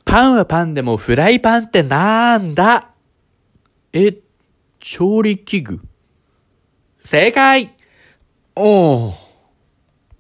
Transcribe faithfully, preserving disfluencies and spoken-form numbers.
パンはパンでもフライパンってなんだ？え、調理器具。正解。おー。